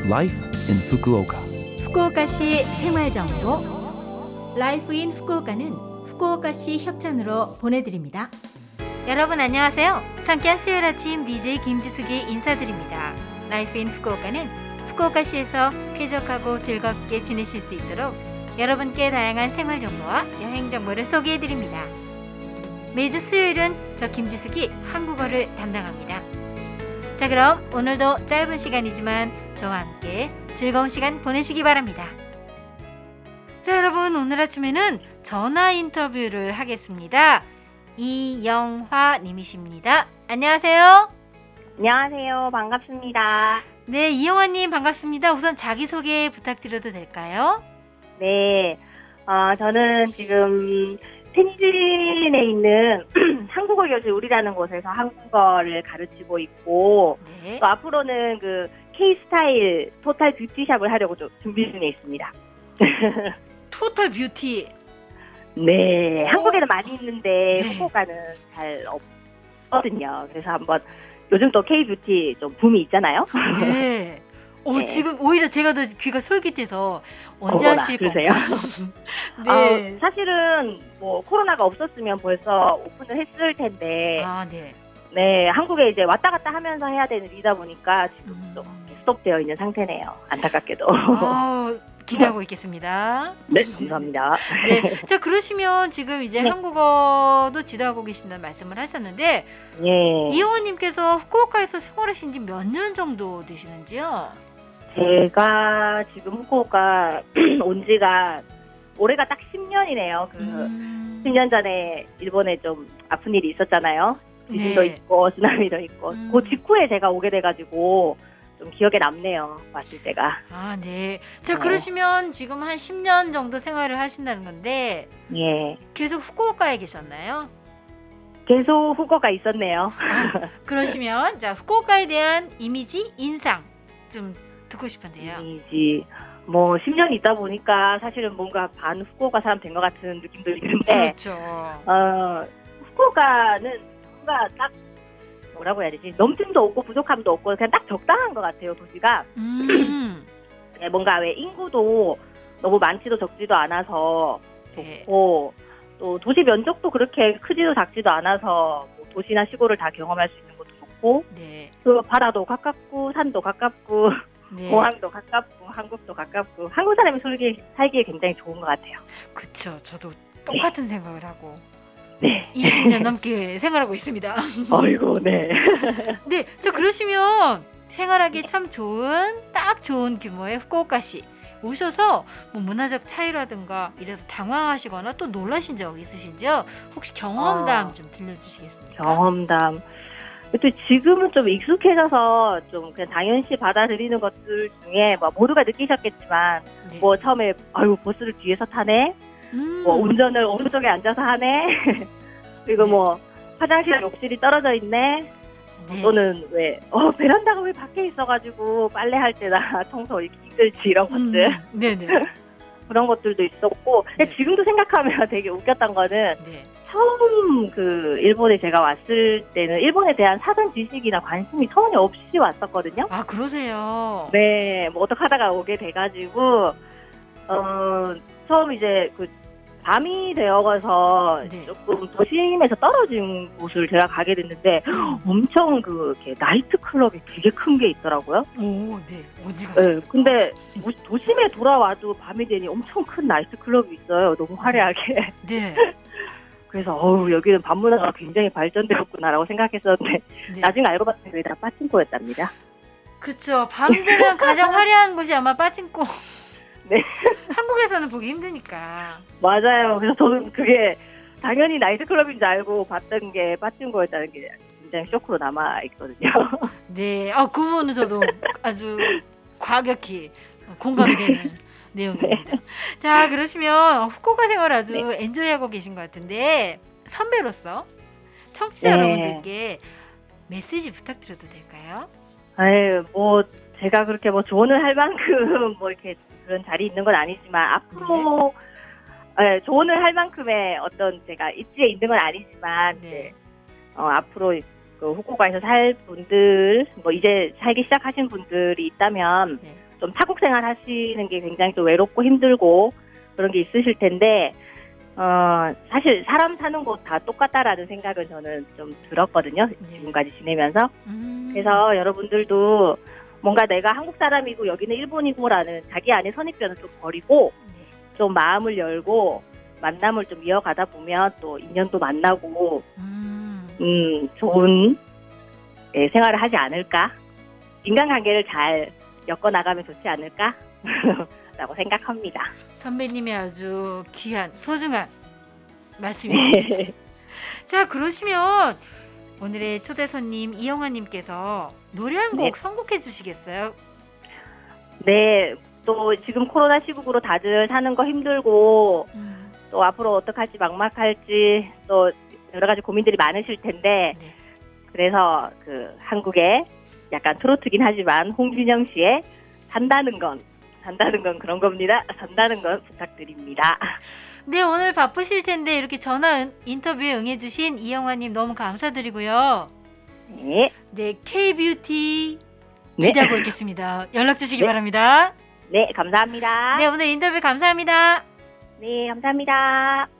Life in Fukuoka. 후쿠오카시 생활정보 라이프 인 후쿠오카는 후쿠오카시 협찬으로 보내드립니다. 여러분 안녕하세요. 상쾌한 수요일 아침 DJ 김지숙이 인사드립니다. 라이프 인 후쿠오카는 후쿠오카시에서 쾌적하고 즐겁게 지내실 수 있도록 여러분께 다양한 생활 정보와 여행 정보를 소개해드립니다. 매주 수요일은 저 김지숙이 한국어를 담당합니다. 자, 그럼 오늘도 짧은 시간이지만 저와 함께 즐거운 시간 보내시기 바랍니다. 자, 여러분 오늘 아침에는 전화 인터뷰를 하겠습니다. 이영화 님이십니다. 안녕하세요. 안녕하세요. 반갑습니다. 네, 이영화 님 반갑습니다. 우선 자기소개 부탁드려도 될까요? 네, 저는 지금 텐진에 있는 한국어 교실 우리라는 곳에서 한국어를 가르치고 있고 네. 또 앞으로는 그 K-스타일 토탈 뷰티샵을 하려고 좀 준비 중에 있습니다. 토탈 뷰티. 네, 한국에는 많이 있는데 네. 후쿠오카는 잘 없거든요. 그래서 한번 요즘 또 K-뷰티 좀 붐이 있잖아요. 네. 네. 지금 오히려 제가 더 귀가 솔깃해서 언제 어머나, 하실 그러세요? 건가요? 네. 사실은 뭐 코로나가 없었으면 벌써 오픈을 했을 텐데 네. 네, 한국에 이제 왔다 갔다 하면서 해야 되는 일이다 보니까 지금 좀 스톱되어 있는 상태네요. 안타깝게도. 기대하고 있겠습니다. 네, 감사합니다. 네. 자, 그러시면 지금 이제 네. 한국어도 지도하고 계신다는 말씀을 하셨는데 예, 이영호님께서 후쿠오카에서 생활하신 지 몇 년 정도 되시는지요? 제가 지금 후쿠오카 온 지가 올해가 딱 10년이네요. 10년 전에 일본에 좀 아픈 일이 있었잖아요. 지진도 네. 있고 쓰나미도 있고 음. 그 직후에 제가 오게 돼가지고 좀 기억에 남네요. 왔을 때가. 네. 자, 네. 그러시면 지금 한 10년 정도 생활을 하신다는 건데 예, 계속 후쿠오카에 계셨나요? 계속 후쿠오카 있었네요. 그러시면 자, 후쿠오카에 대한 이미지, 인상 좀 듣고 싶은데요. 이지 뭐 10년 있다 보니까 사실은 뭔가 반 후쿠오카 사람 된 것 같은 느낌도 있는데 그렇죠. 후쿠오카는 뭔가 딱 뭐라고 해야 되지? 넘침도 없고 부족함도 없고 그냥 딱 적당한 것 같아요. 도시가 네, 뭔가 왜 인구도 너무 많지도 적지도 않아서 네. 좋고 또 도시 면적도 그렇게 크지도 작지도 않아서 뭐 도시나 시골을 다 경험할 수 있는 것도 좋고 네. 그 바다도 가깝고 산도 가깝고 네. 공항도 가깝고 한국도 가깝고 한국 사람이 살기에 굉장히 좋은 것 같아요. 그쵸. 저도 똑같은 생각을 하고 네. 20년 넘게 생활하고 있습니다. 아이고, 네. 네, 저 그러시면 생활하기 참 딱 좋은 규모의 후쿠오카시 오셔서 뭐 문화적 차이라든가 이래서 당황하시거나 또 놀라신 적 있으신지요? 혹시 경험담 좀 들려주시겠습니까? 경험담. 또 지금은 좀 익숙해져서 좀 그냥 당연시 받아들이는 것들 중에 뭐 모두가 느끼셨겠지만 네. 뭐 처음에 아유 버스를 뒤에서 타네, 뭐 운전을 오른쪽에 앉아서 하네, 그리고 네. 뭐 화장실 욕실이 떨어져 있네, 네. 또는 왜 베란다가 왜 밖에 있어가지고 빨래할 때나 청소 이렇게 힘들지 이런 것들 네네. 그런 것들도 있었고 근데 네. 지금도 생각하면 되게 웃겼던 거는 네. 처음 그 일본에 제가 왔을 때는 일본에 대한 사전 지식이나 관심이 전혀 없이 왔었거든요. 그러세요. 네, 뭐 어떻게 하다가 오게 돼가지고 처음 이제 그 밤이 되어가서 네. 조금 도심에서 떨어진 곳을 제가 가게 됐는데 엄청 이렇게 나이트 클럽이 되게 큰 게 있더라고요. 오, 네. 어디 가셨어요? 네, 근데 도심에 돌아와도 밤이 되니 엄청 큰 나이트 클럽이 있어요. 너무 화려하게. 네. 그래서 여기는 밤 문화가 굉장히 발전되었구나라고 생각했었는데 네. 나중에 알고 봤더니 그게 다 빠친코였답니다. 그쵸. 밤 되면 가장 화려한 곳이 아마 빠진코. 네. 한국에서는 보기 힘드니까. 맞아요. 그래서 저는 그게 당연히 나이트클럽인 줄 알고 봤던 게 빠친코였다는 게 굉장히 쇼크로 남아있거든요. 네. 그 부분은 저도 아주 과격히 공감이 되는 내용입니다. 자, 그러시면 후쿠오카 생활 아주 엔조이하고 계신 것 같은데 선배로서 청취자 네. 여러분들께 메시지 부탁드려도 될까요? 뭐 제가 그렇게 뭐 조언을 할 만큼 뭐 이렇게 그런 자리 있는 건 아니지만 앞으로 조언을 할 만큼의 어떤 제가 입지에 있는 건 아니지만 네. 앞으로 그 후쿠오카에서 살 분들 뭐 이제 살기 시작하신 분들이 있다면 네. 좀 타국 생활 하시는 게 굉장히 또 외롭고 힘들고 그런 게 있으실 텐데 사실 사람 사는 곳 다 똑같다라는 생각은 저는 좀 들었거든요. 지금까지 지내면서. 그래서 여러분들도 뭔가 내가 한국 사람이고 여기는 일본이고라는 자기 안에 선입견을 좀 버리고 좀 마음을 열고 만남을 좀 이어가다 보면 또 인연도 만나고 좋은 생활을 하지 않을까? 인간관계를 잘 엮어나가면 좋지 않을까? 라고 생각합니다. 선배님의 아주 귀한 소중한 말씀이십니다. 자, 그러시면 오늘의 초대 손님 이영화님께서 노래 한 곡 선곡해 주시겠어요? 네, 또 지금 코로나 시국으로 다들 사는 거 힘들고 또 앞으로 어떡할지 막막할지 또 여러 가지 고민들이 많으실 텐데 그래서 그 한국의 약간 트로트긴 하지만 홍진영 씨의 산다는 건 그런 겁니다. 산다는 건 부탁드립니다. 네, 오늘 바쁘실 텐데 이렇게 전화 인터뷰에 응해주신 이영화님 너무 감사드리고요. 네, K-뷰티 기대하고 있겠습니다. 연락 주시기 바랍니다. 네, 감사합니다. 네, 오늘 인터뷰 감사합니다. 네, 감사합니다.